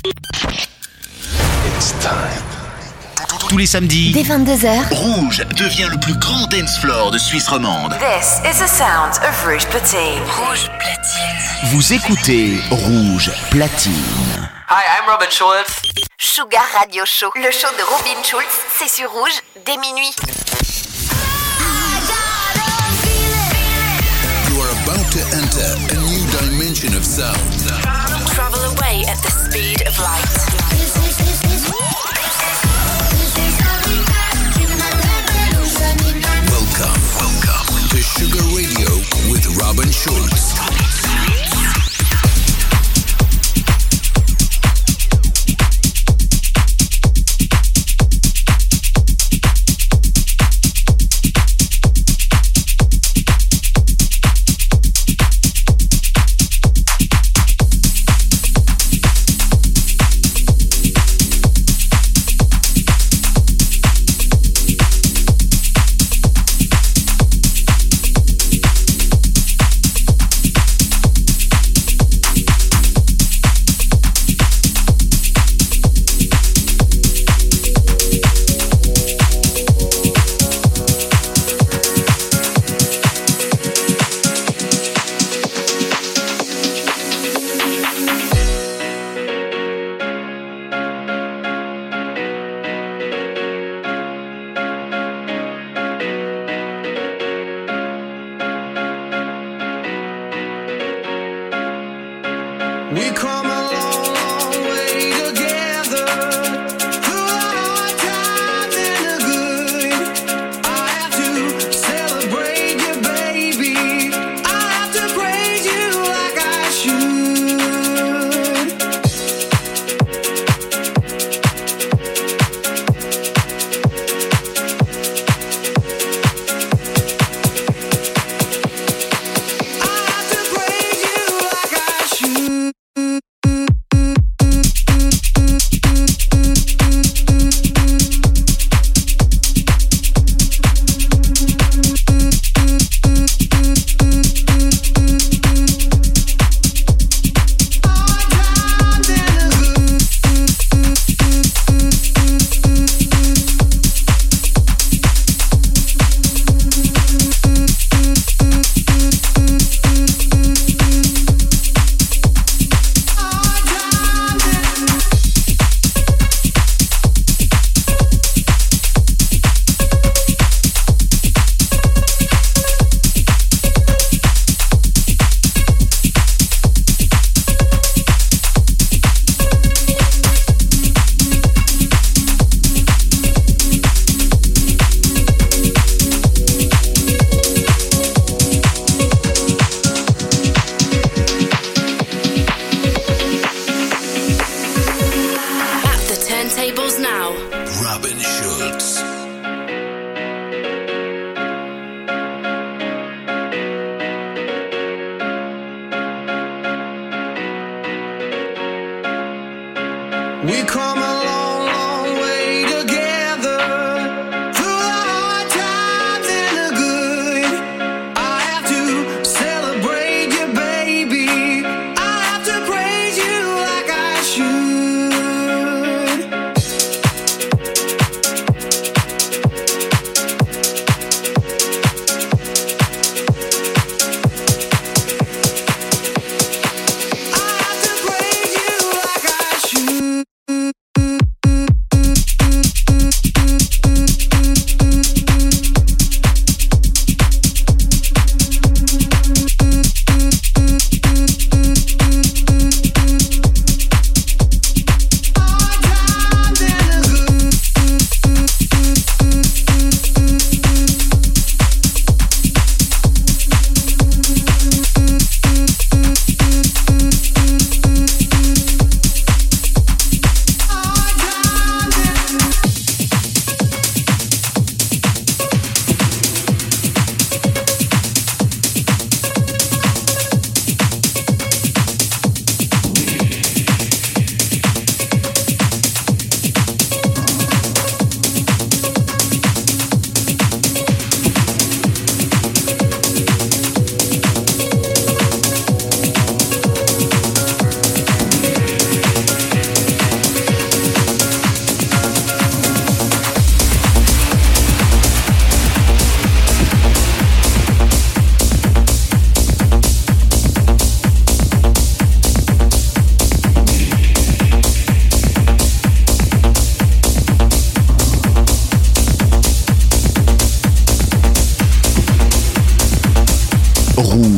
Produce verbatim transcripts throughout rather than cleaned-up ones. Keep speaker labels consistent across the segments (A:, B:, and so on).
A: It's time. Tous les samedis,
B: dès vingt-deux heures,
A: Rouge devient le plus grand dance floor de Suisse romande.
C: This is the sound of Rouge Platine.
B: Rouge Platine.
A: Vous écoutez Rouge Platine.
D: Hi, I'm Robin Schulz.
B: Sugar Radio Show, le show de Robin Schulz, c'est sur Rouge dès minuit.
E: You are about to enter a new dimension of sound.
B: Travel away at the speed of light.
E: Welcome, welcome to Sugar Radio with Robin Schulz.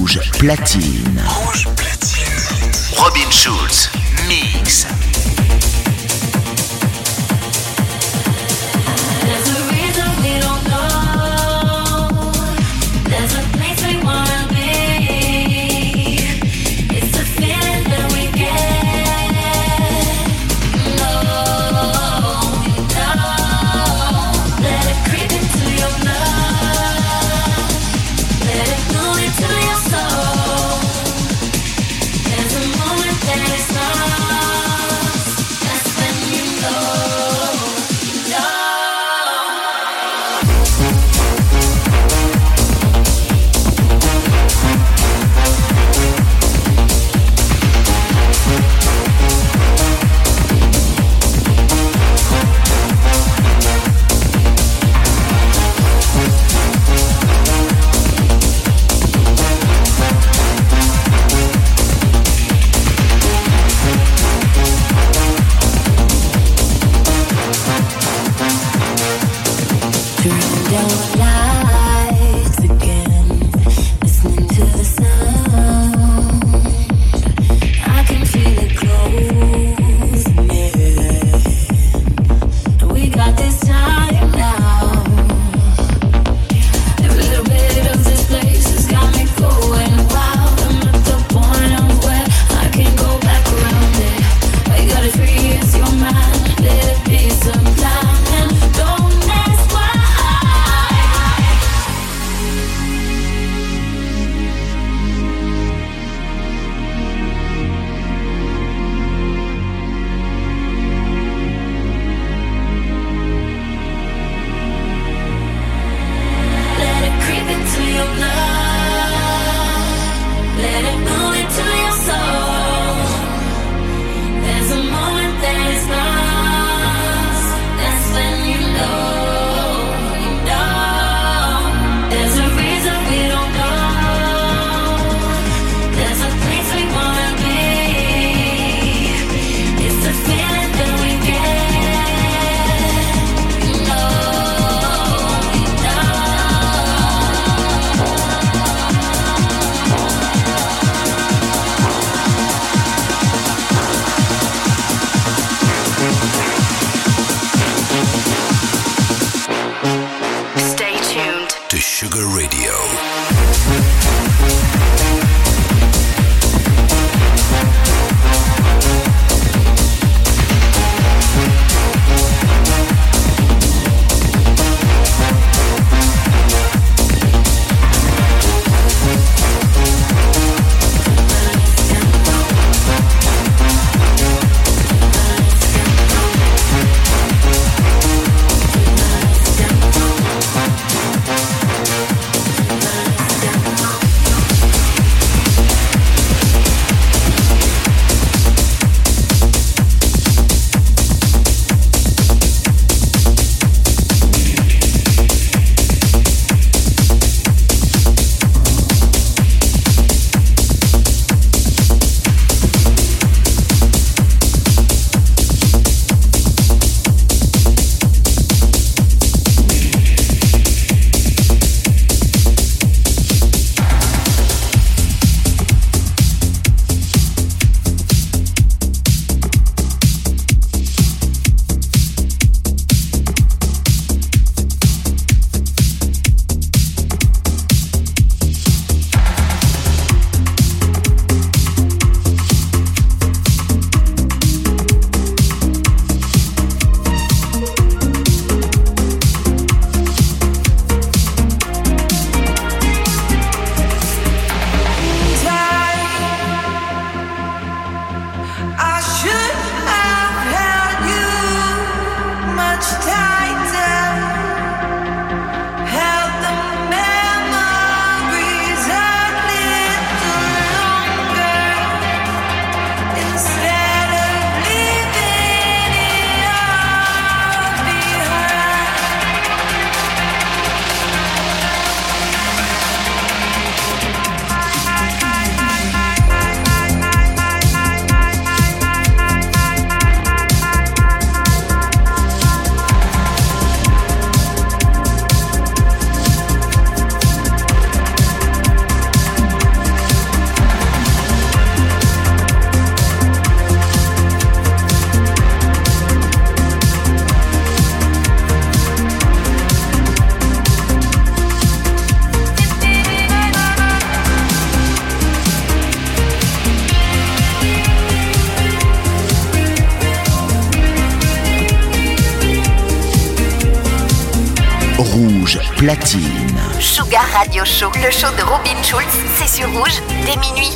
A: Rouge platine. Rouge platine. Robin Schulz, mix.
D: There's a moment that is not
A: Rouge Platine.
B: Sugar Radio Show, le show de Robin Schulz, c'est sur Rouge dès minuit.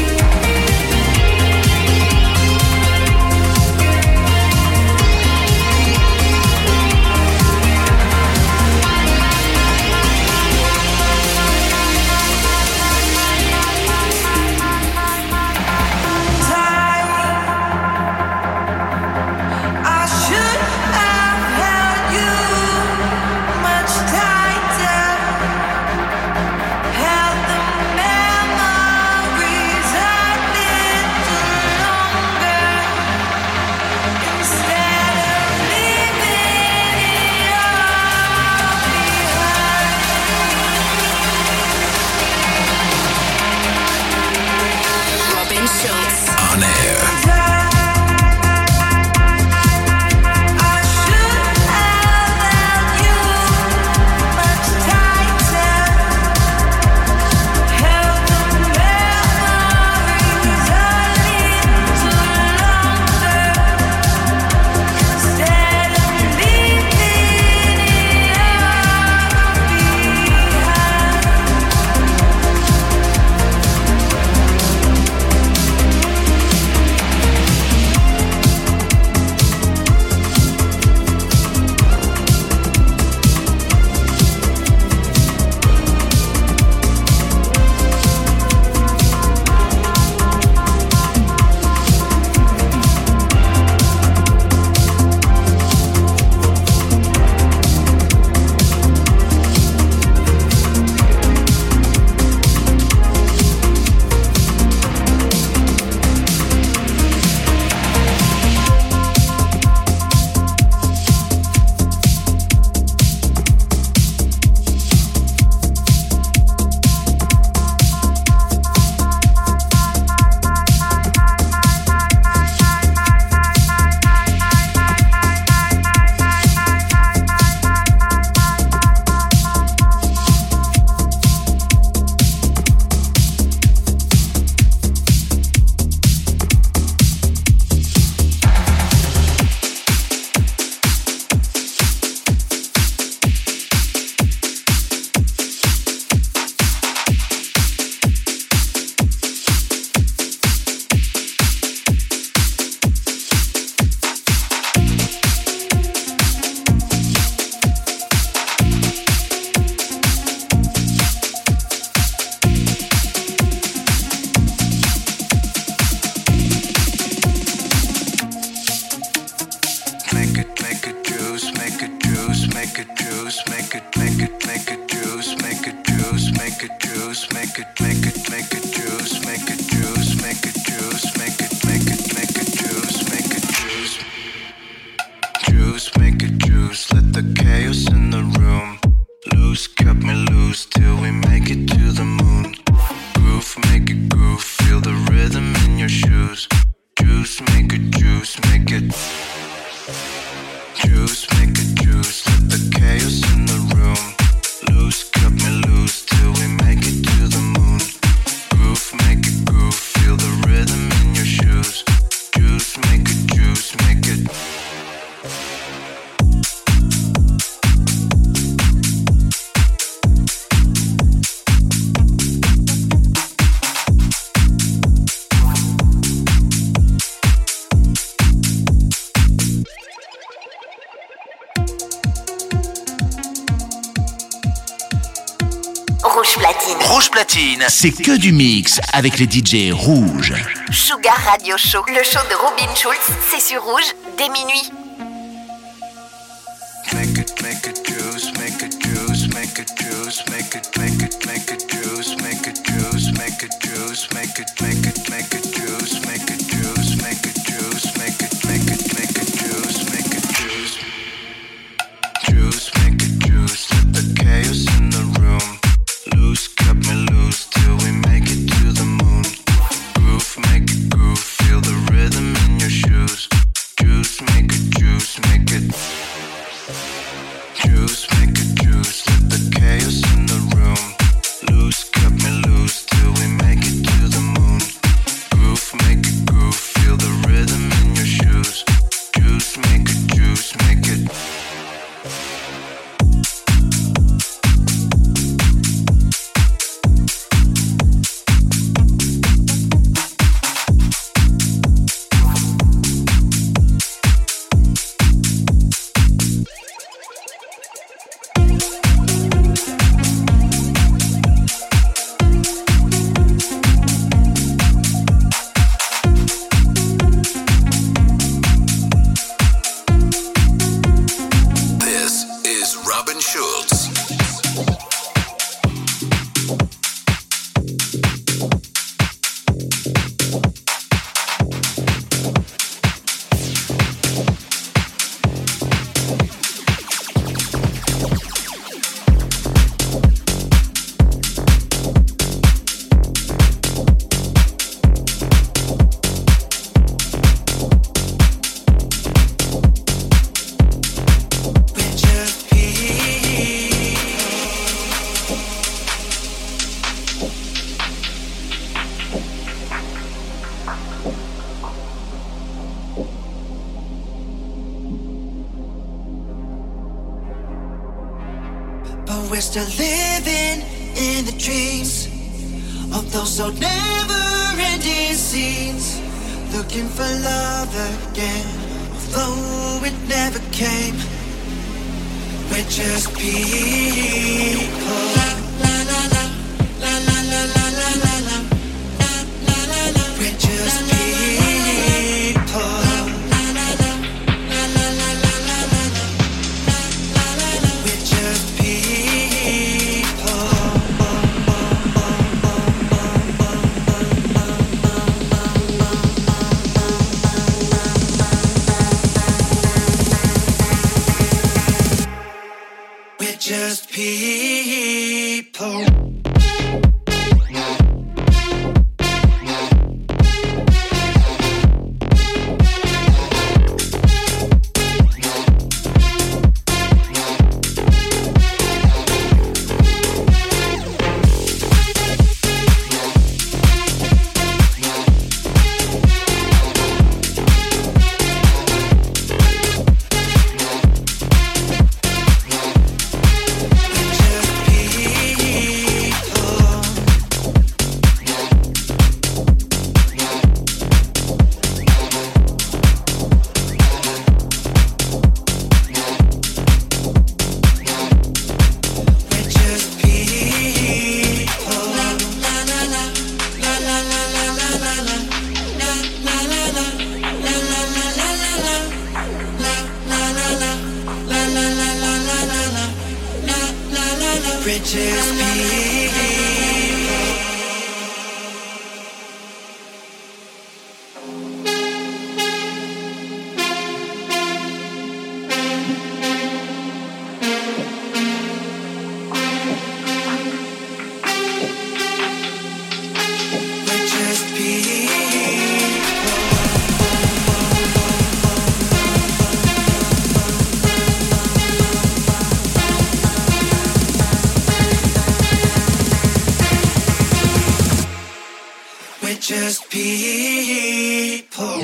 A: Rouge Platine. Rouge Platine, c'est que du mix avec les D J rouges.
B: Sugar Radio Show, le show de Robin Schulz, c'est sur Rouge dès minuit.
D: Make it, make it juice, make it juice, make it juice, make it, make it, make it juice, make it juice, make it juice, make it, make it, make it juice, make it juice, make it juice, make it, make it, make it juice, make it juice, juice, make it juice. Let the chaos in the room loose, cut me loose till we make it to the moon. Groove, make it groove, feel the rhythm in your shoes. Juice, make it juice, make it. Juice, make it juice, let the chaos in the room loose, cut me loose till we make it to the moon.
F: we're still living in the dreams of those old never-ending scenes, looking for love again, although it never came. We're just people. La la la la la la la la la la la la la. We're just people. La la la la la la la la la la la la. We're just people. We're just people. Just people.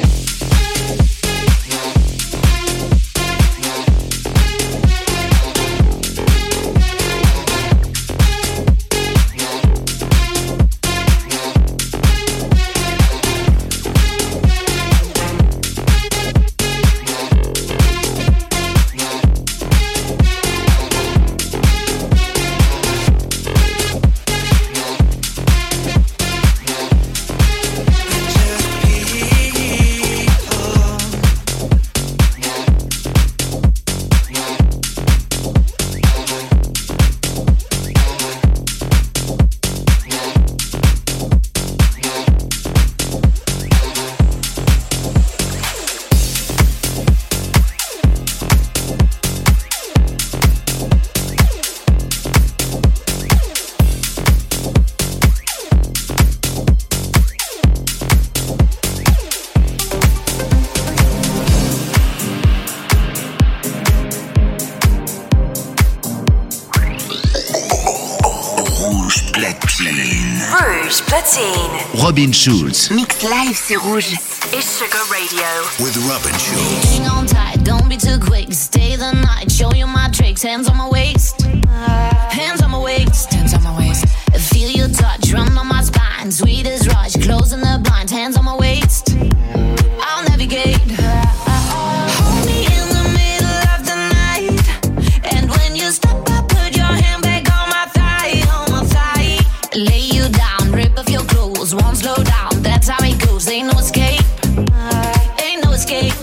A: Robin Schulz.
B: Mix live, c'est Rouge.
C: It's Sugar Radio.
E: With Robin Schulz.
G: Hang on tight, don't be too quick. Stay the night, show you my tricks. Hands on my waist. Hands on my waist. Hands on my waist. Feel your touch, run on my spine. Sweet as rush, closing the blinds. Hands on my waist. I'll navigate. Hold me in the middle of the night. And when you stop, I put your hand back on my thigh, on my thigh. Lay you down, rip off your clothes, won't slow down. That's how it goes. Ain't no escape. Ain't no escape.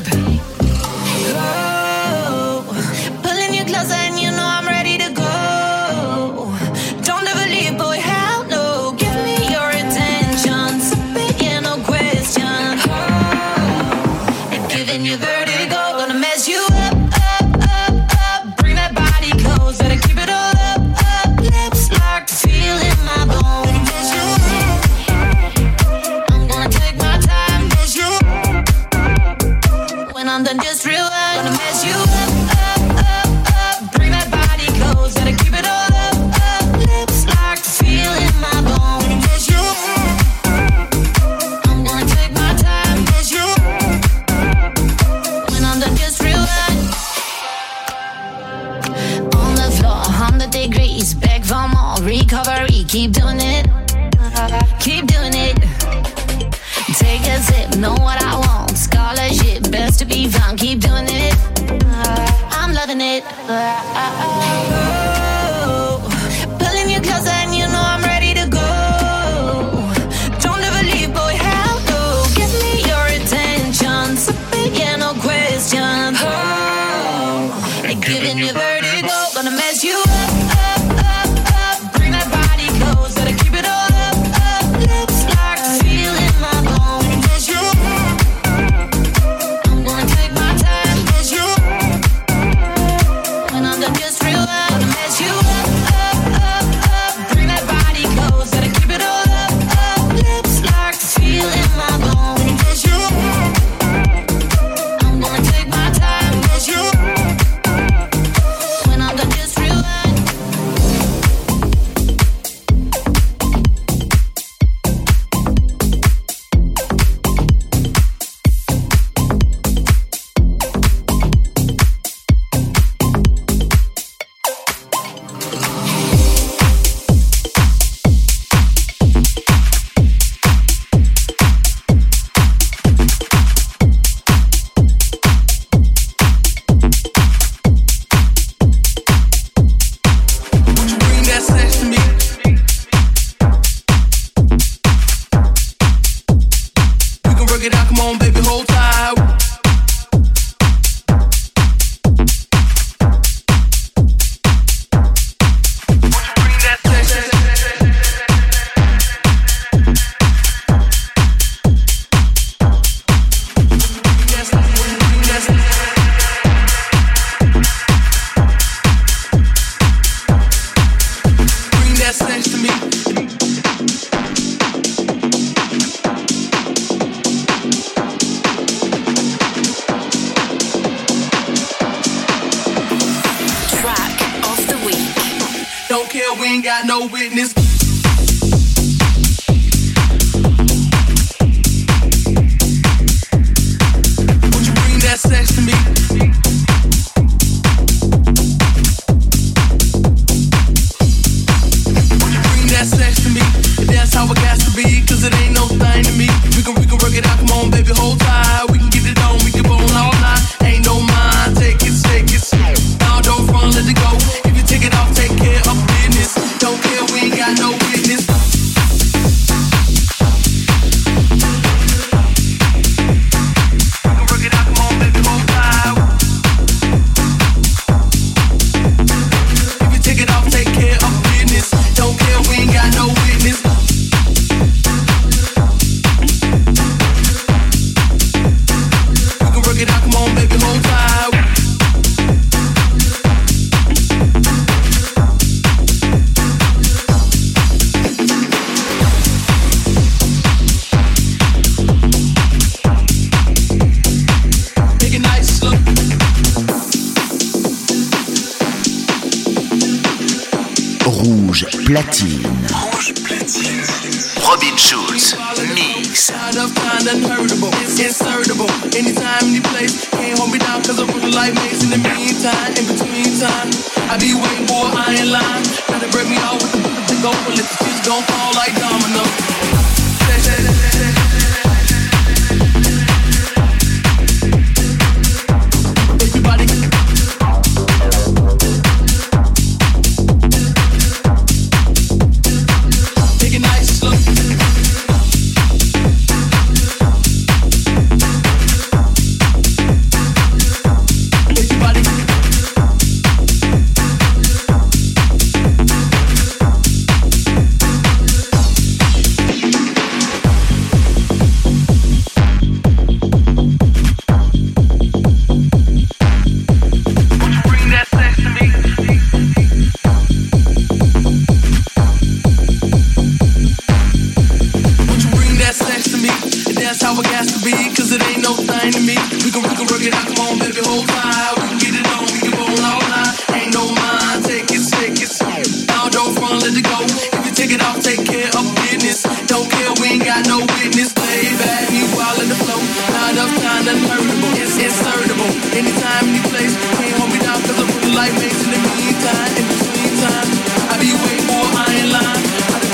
G: Oh, pulling you closer and you know I'm ready to go. Don't ever leave, boy, hell no. Give me your attention, speaking no question. Oh, and giving you vertigo, gonna mess you up, up, up, up. Bring that body close, better keep it all up, up. Lips locked, feeling my bones. I'm gonna take my time, mess you up. When I'm done, just realize, gonna mess you up, up, up, up. Bring that body close, better keep it all up, up. Lips locked, feeling my bones. Mess you up. I'm gonna take my time, mess you up. When I'm done, just realize. On the floor, one hundred degrees, keep doing it, keep doing it. Take a sip, know what I want. Scholarship, best to be found. Keep doing it, I'm loving it. Oh, pulling you closer and you know I'm ready to go. Don't ever leave, boy, hell no. Give me your attention, something, yeah, no question. Oh, and giving you vertigo, gonna mess you up, up, up, up. Bring that body close, gotta keep it all up, up. Lips like feeling my bones. Cause you, I'm gonna take my time. Cause you, when I'm done, just realize gonna mess you up, up, up, up. Bring that body close, gotta keep it all up, up. Lips like feeling my bones. Cause you, I'm gonna take my time. Cause you, when I'm done, just realize.
H: Bring that sex to me. We can work it out, come on, baby, hold tight. Bring that sex. Bring that sex. Bring that sex to me.
C: Track of the week.
H: Don't care, we ain't got no witness. Would you bring that sex to me? Would you bring that sex to me? That's how it got to be, cause it ain't no thing to me. We can, we can work it out, come on, baby, hold tight. We can get it on, we can bone all night. Ain't no mind, take it, take it. Now don't run, let it go. If you take it off, take care of business. Don't care, we ain't got no witness. We can work it out, come on, baby, hold tight. If you take it off, take care of business. Don't care, we ain't got no witness. We can work it out, come on, baby, hold tight. Make it nice, look.
A: Rouge platine. Rouge platine. Robin Schulz, mix.
H: Enough time unheardable, it's insertable. Anytime, any place, can't hold me down cause I run like mace. In the meantime, in between time, I be waiting for an iron line. Try to break me off with the bullet to go, but let the chips gon' fall like dominoes. Everybody take a nice look. Everybody Anytime, any place, can't hold me down cause I'm really like mace. In the meantime, in between time, I be waiting for an iron line.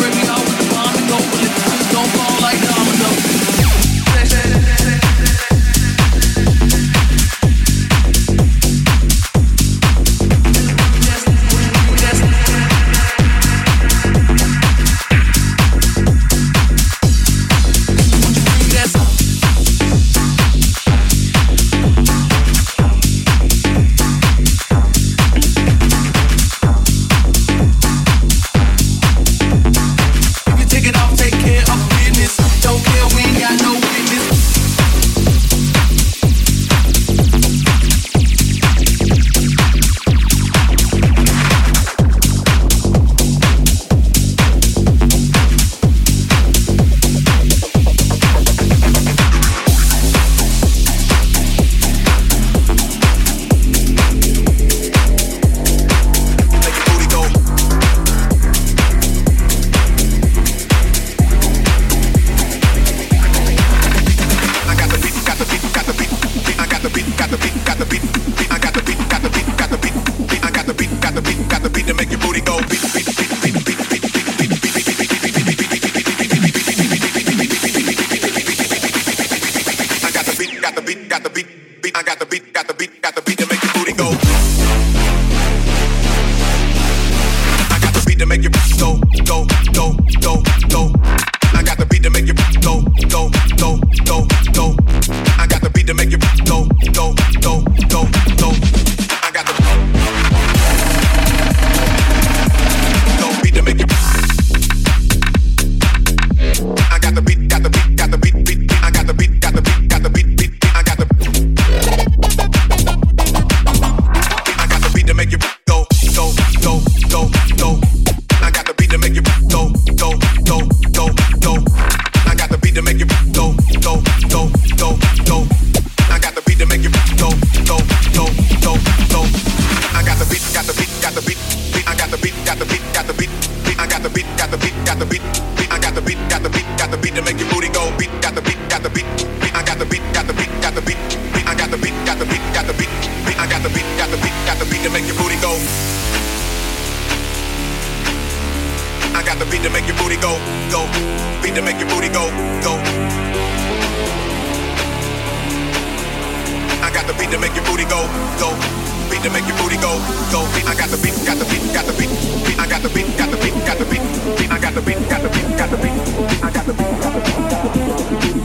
I: got the beat, got the beat, beat. I got the beat, got the beat, got the beat, beat. I got the beat, got the beat, got the beat to make your booty go beat, beat, beat, beat, beat, beat, beat, beat, beat, beat, beat, beat, beat, beat, beat, beat, beat. I got the beat, got the beat, got the beat, beat. I got the beat, got the beat, got the beat to make your booty go. I got the beat to make your go, go, go, go, go. I got the beat to make you go, go, go, go, go. I got the beat to make you go, go, go, go, go. I got the go beat to make you. I got the beat, got the beat, got the beat, beat. I got the beat, got the beat, got the beat, beat. I got the I got the beat to make you go, go, go, go, go. I got the beat to make you go, go, go, go, go. I got the beat to make you go, go, go, go, go. I got the beat to make you go, go, go, go, go. I got the beat, got the beat, got the beat, beat. I got the beat, got the beat, got the beat, beat. I got the beat, got the beat, got the beat, beat. I got the beat, got the beat, got the beat to make your booty go beat. Got the beat, got the beat, beat. I got the beat, got the beat, got the beat, beat. I got the beat, got the beat, got the beat, beat. I got the beat, got the beat, got the beat to make your booty go. I got the beat to make your booty go, go. Beat to make your booty go, go. I got the beat to make your booty go, go. Beat to make your booty go, go. I got the beat, got the beat, got the beat, beat. I got the beat, got the beat, got the beat, beat. I got the beat, got the beat, got the beat, beat. I got the beat, got the beat, got the beat.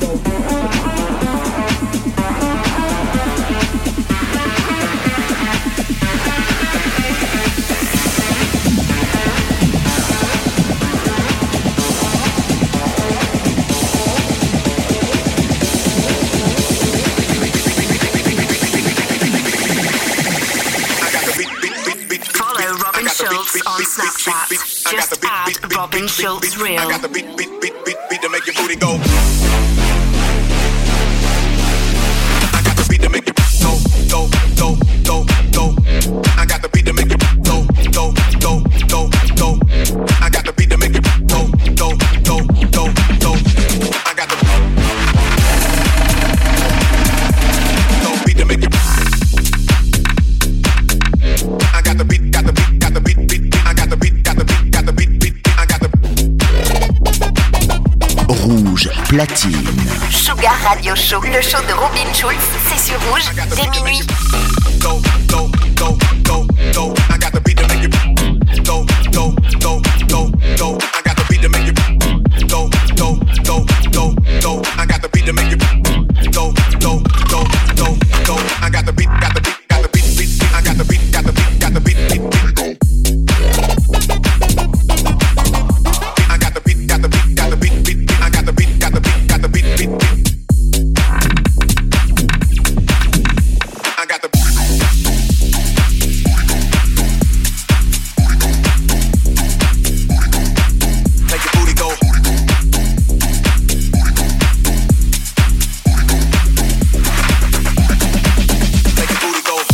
C: Schultz on Snapchat. Just add Robin Schultz Real.
I: I got the beat, beat, beat, beat, beat to make your booty go. I got the beat to make you go, go, go, go, go. I got the beat to make you go, go, go, go, go. I got the beat to make you go, go, go, go, go. I got the go beat to make you. I got the beat, got the beat, got the beat, beat, beat. I got the beat, got the beat, got the beat, beat, beat. I got the
A: Rouge Platine.
B: Sugar Radio Show, le show de Robin Schultz, c'est sur Rouge dès minuit.
I: Go, go, go, go, go. I got the beat to make you go, go, go, go, go. I got the beat to make you go, go, go, go, go. I got the beat to make you go, go, go, go, go. I got the beat, got the beat, got the beat, beat, beat. I got the beat, got the beat, got the beat, beat, beat. Go. I got the beat, got the beat, got the beat, beat, beat. I got the beat, got the beat, got the beat, beat, beat. I got the make your booty go. Make your booty go.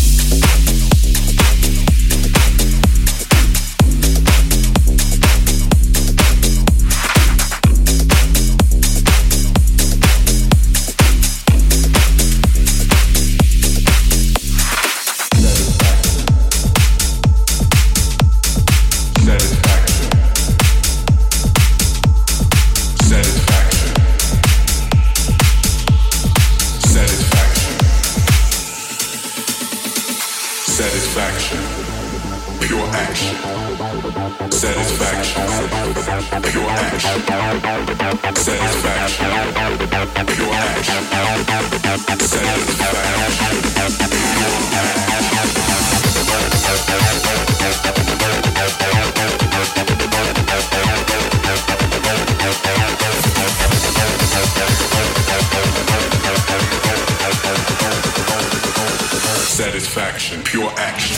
I: Satisfaction, pure action. Satisfaction, pure action. Satisfaction, pure action. Satisfaction, pure action.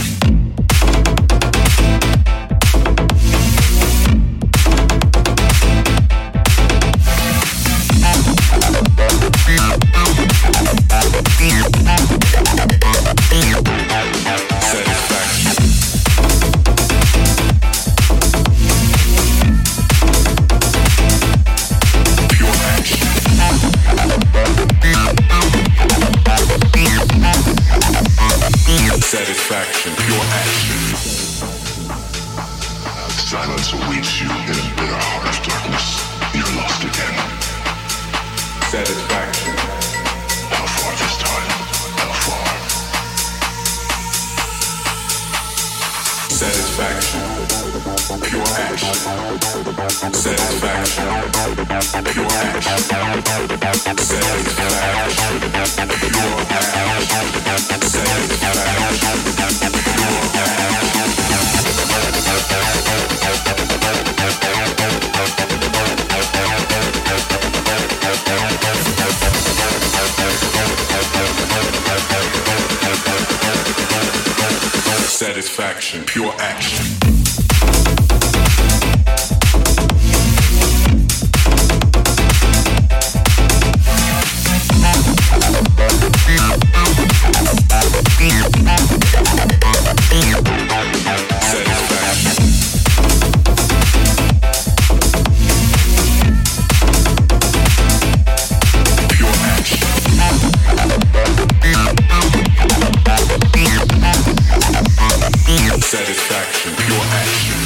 I: Satisfaction, pure action.
J: Silence awaits you in a bitter heart of darkness. You're lost again.
I: Satisfaction.
J: How far this time? How far?
I: Satisfaction, pure action. Satisfaction, pure action. Satisfaction, pure action. Satisfaction, pure action. Satisfaction, pure action. Satisfaction, pure action.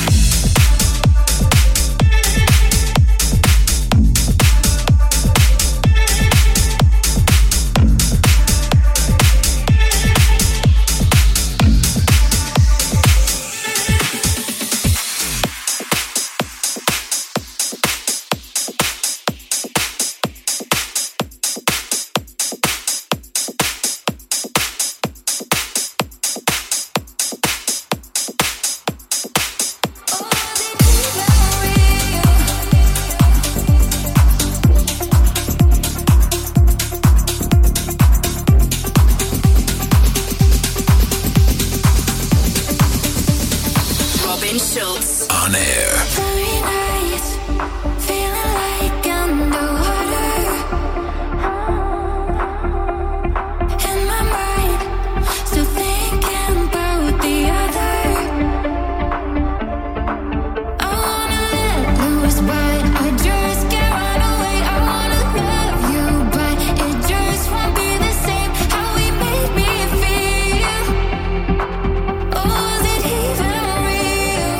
E: On air.
G: Very nice, feeling like underwater. In my mind, still thinking about the other. I wanna let loose, but I just can't run away. I wanna love you, but it just won't be the same. How he made me feel. Oh, is it even real?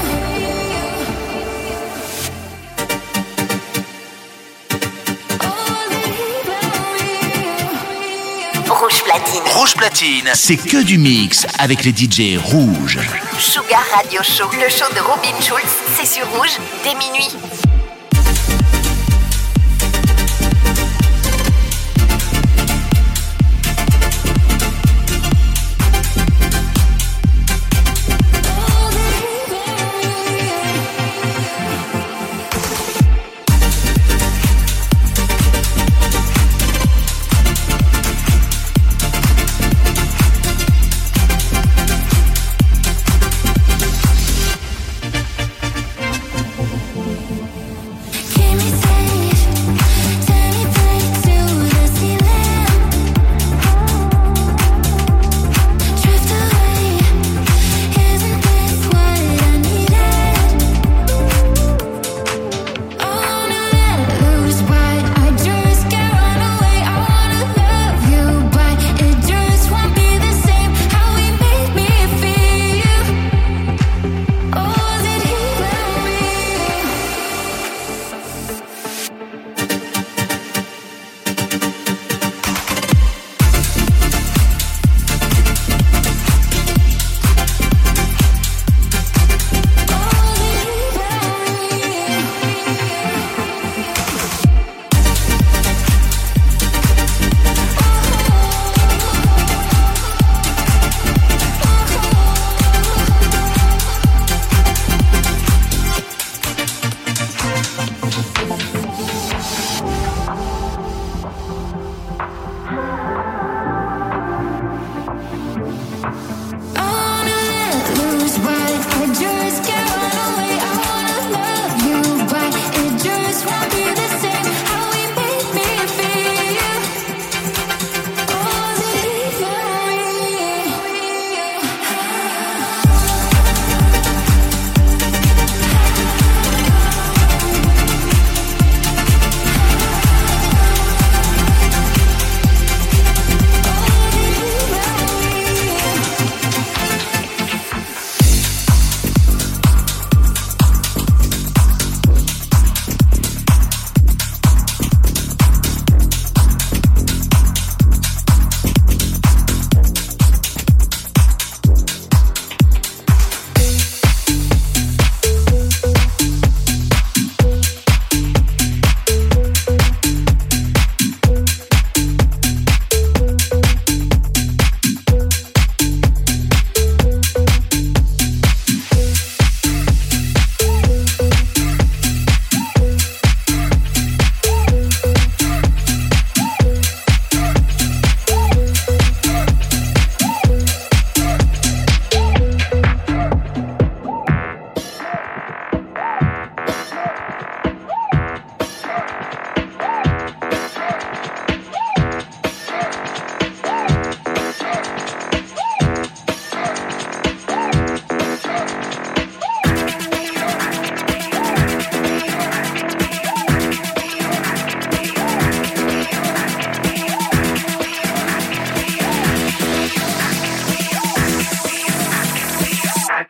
B: Rouge Platine.
A: Rouge Platine, c'est que du mix avec les D J rouges.
B: Sugar Radio Show. Le show de Robin Schulz, c'est sur Rouge dès minuit.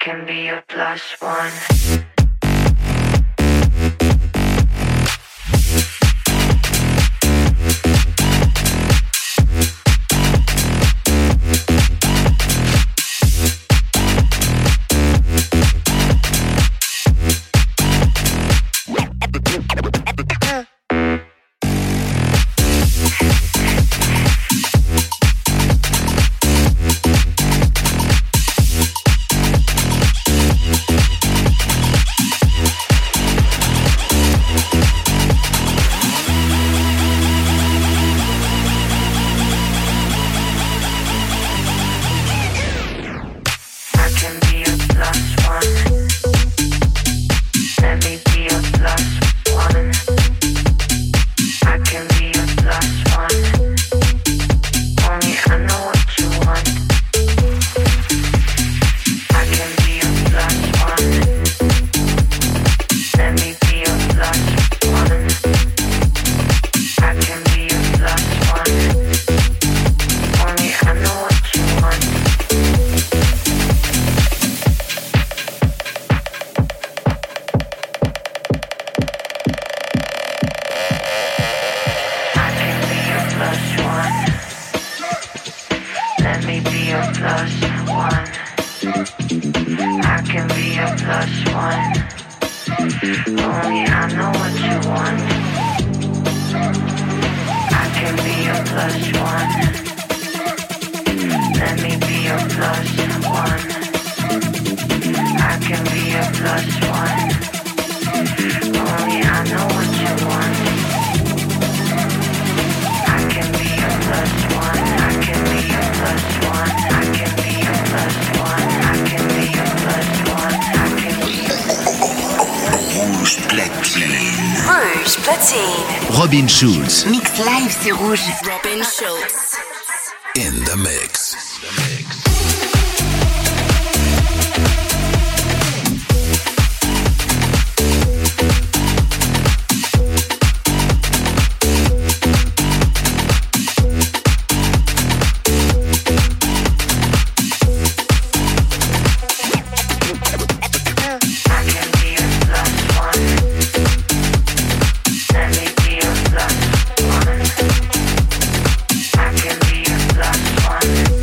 K: can be a plus one.
A: Robin Schulz.
B: Mix live sur Rouge.
C: Robin Schulz.
E: In the mix.
K: One.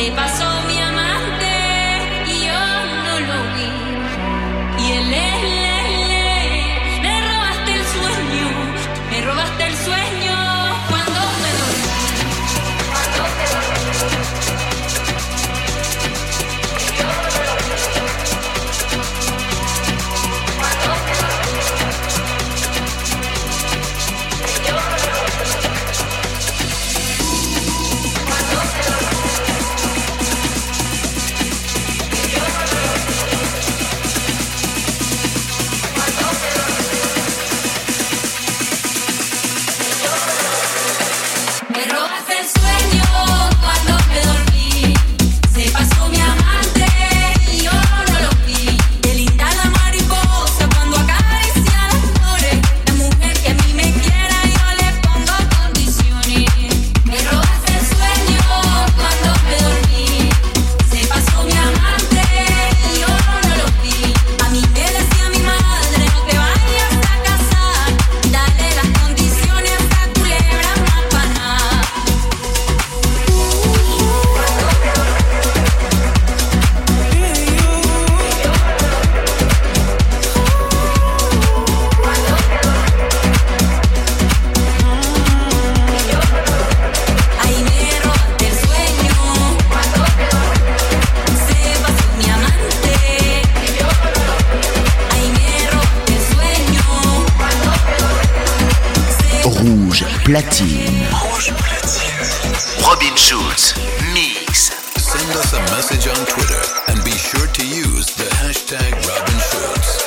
A: Platine. Rouge Platine. Robin Schulz, Mix.
E: Send us a message on Twitter and be sure to use the hashtag Robin Schulz.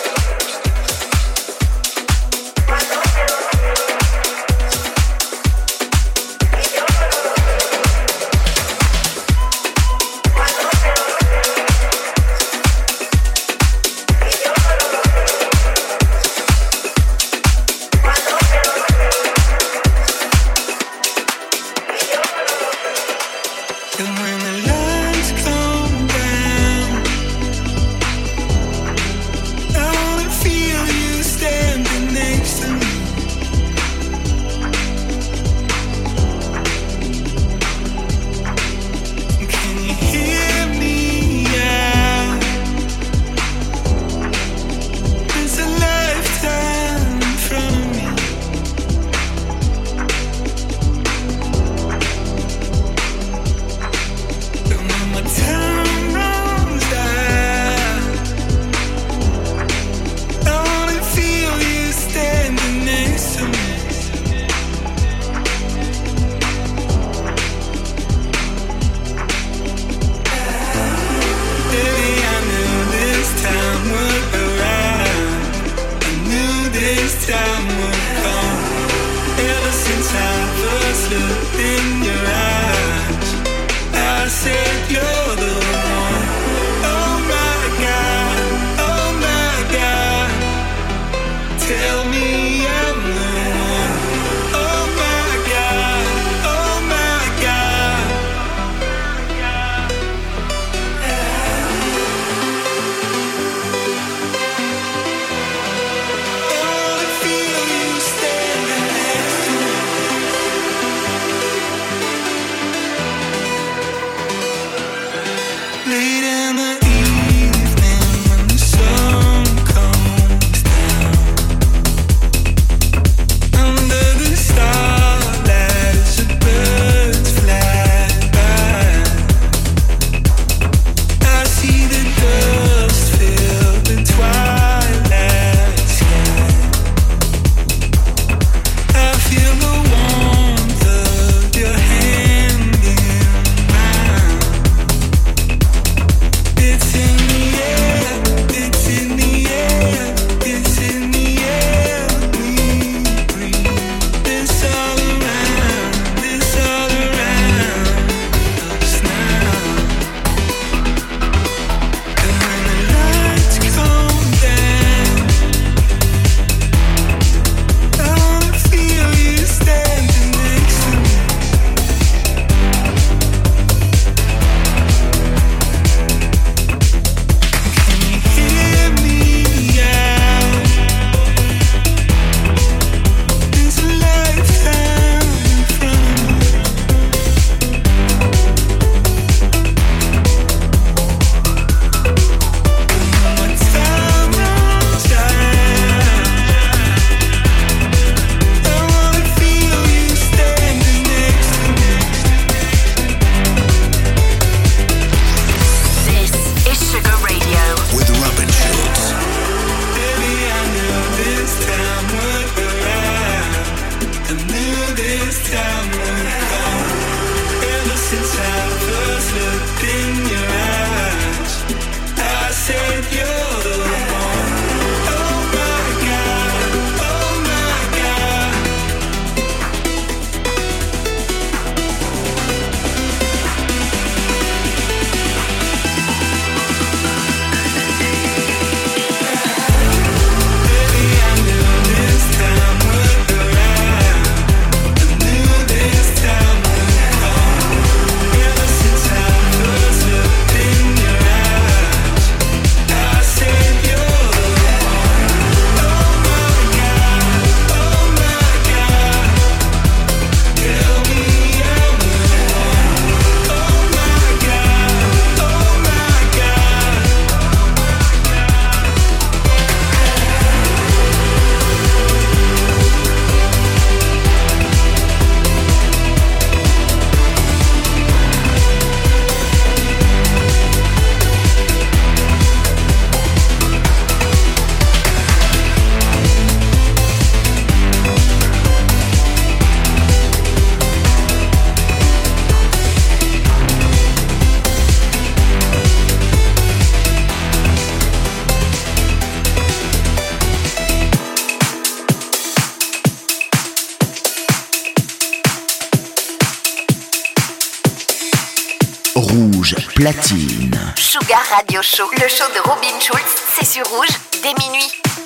A: Rouge Platine.
B: Sugar Radio Show, le show de Robin Schulz, c'est sur Rouge dès minuit.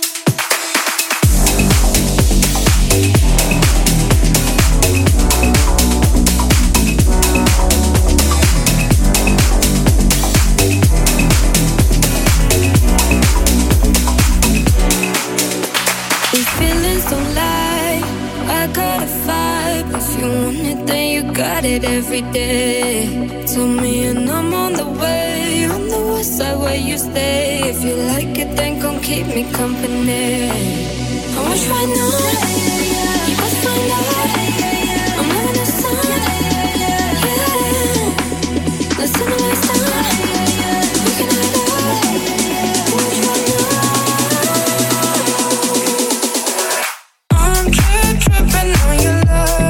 L: Got it every day. Tell me and I'm on the way. On the west side where you stay. If you like it, then come keep me company. I wish right now you could find out I'm having a son. Yeah, listen to my song. We can have it. I wish right now I'm trip tripping on your love.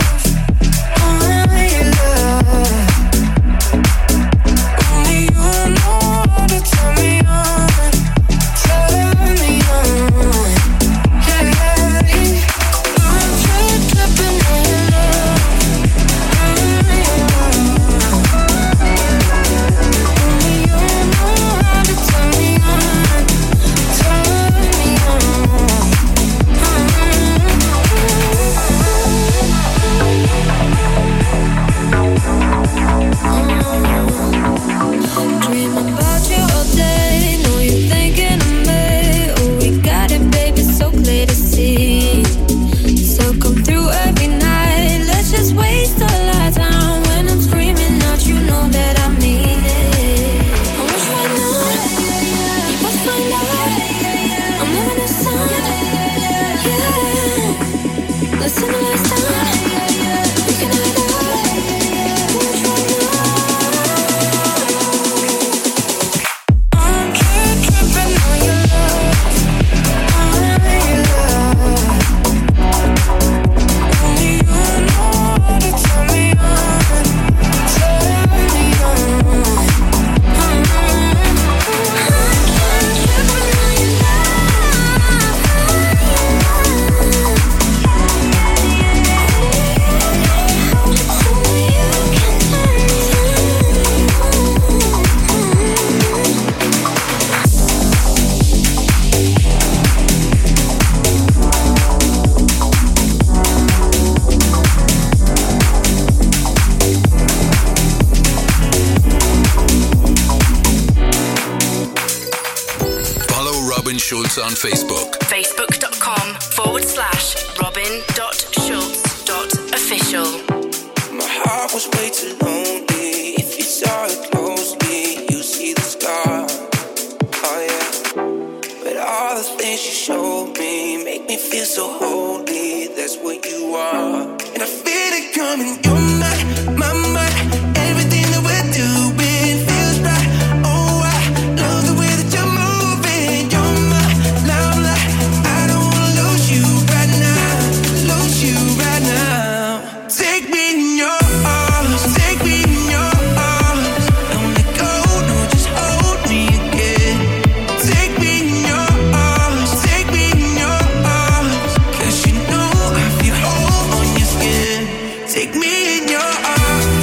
E: On Facebook.
C: Facebook.com forward slash Robin.Schulz.official.
M: My heart was way too lonely. If you saw it closely, you see the scar. Oh yeah. But all the things you showed me make me feel so holy. That's what you are. And I feel it coming. You're my, my, my. Everything that we're doing feels right. Oh, I love the way that you're moving. You're my take me in your arms, take me in your arms. Don't let go, no, just hold me again. Take me in your arms, take me in your arms. 'Cause you know I feel whole on your skin. Take me in your arms.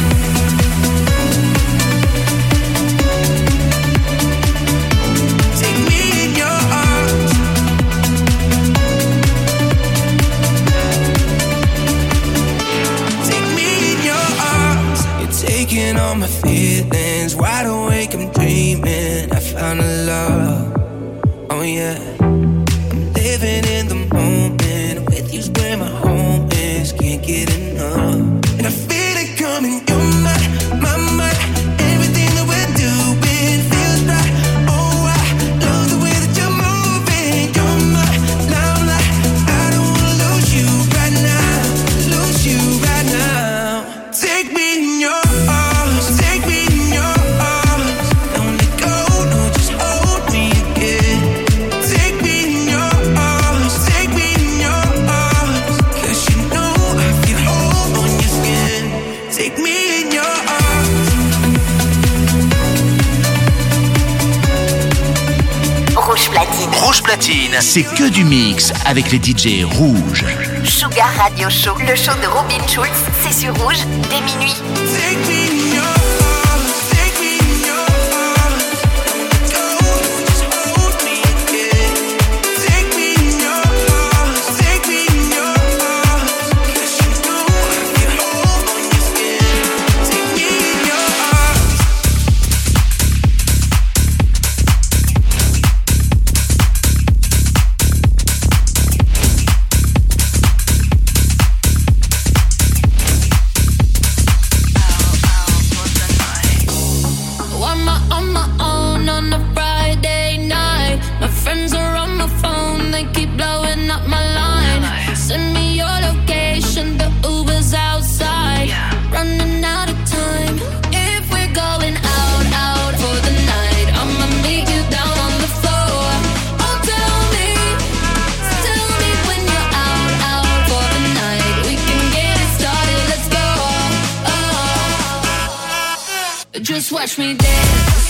M: Take me in your arms. Taking all my feelings, wide awake, I'm dreaming. I found a love, oh yeah. I'm living in the moment, with you's where my home is. Can't get enough, and I feel it coming. You're my, my, my. Everything that we're doing feels right. Oh, I love the way that you're moving. You're my limelight. I don't wanna lose you right now, lose you right now. Take me in your
A: Rouge Platine, c'est que du mix avec les D J rouges.
B: Sugar Radio Show, le show de Robin Schulz, c'est sur Rouge dès minuit.
M: Take me in your arms.
G: Just watch me dance.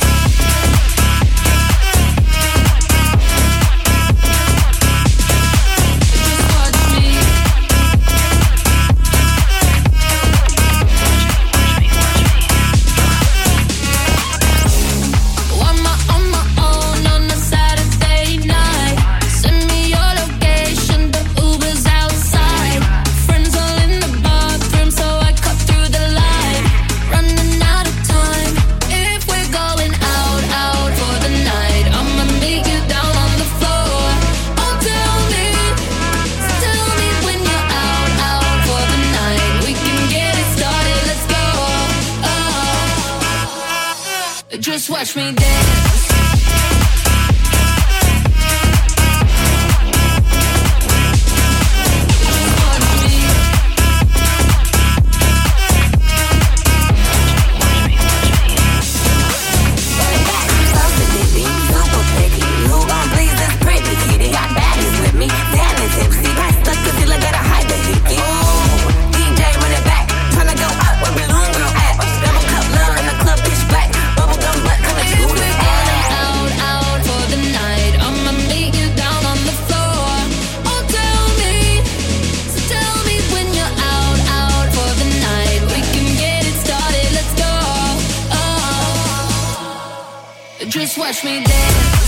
G: Just watch me dance. Just watch me dance.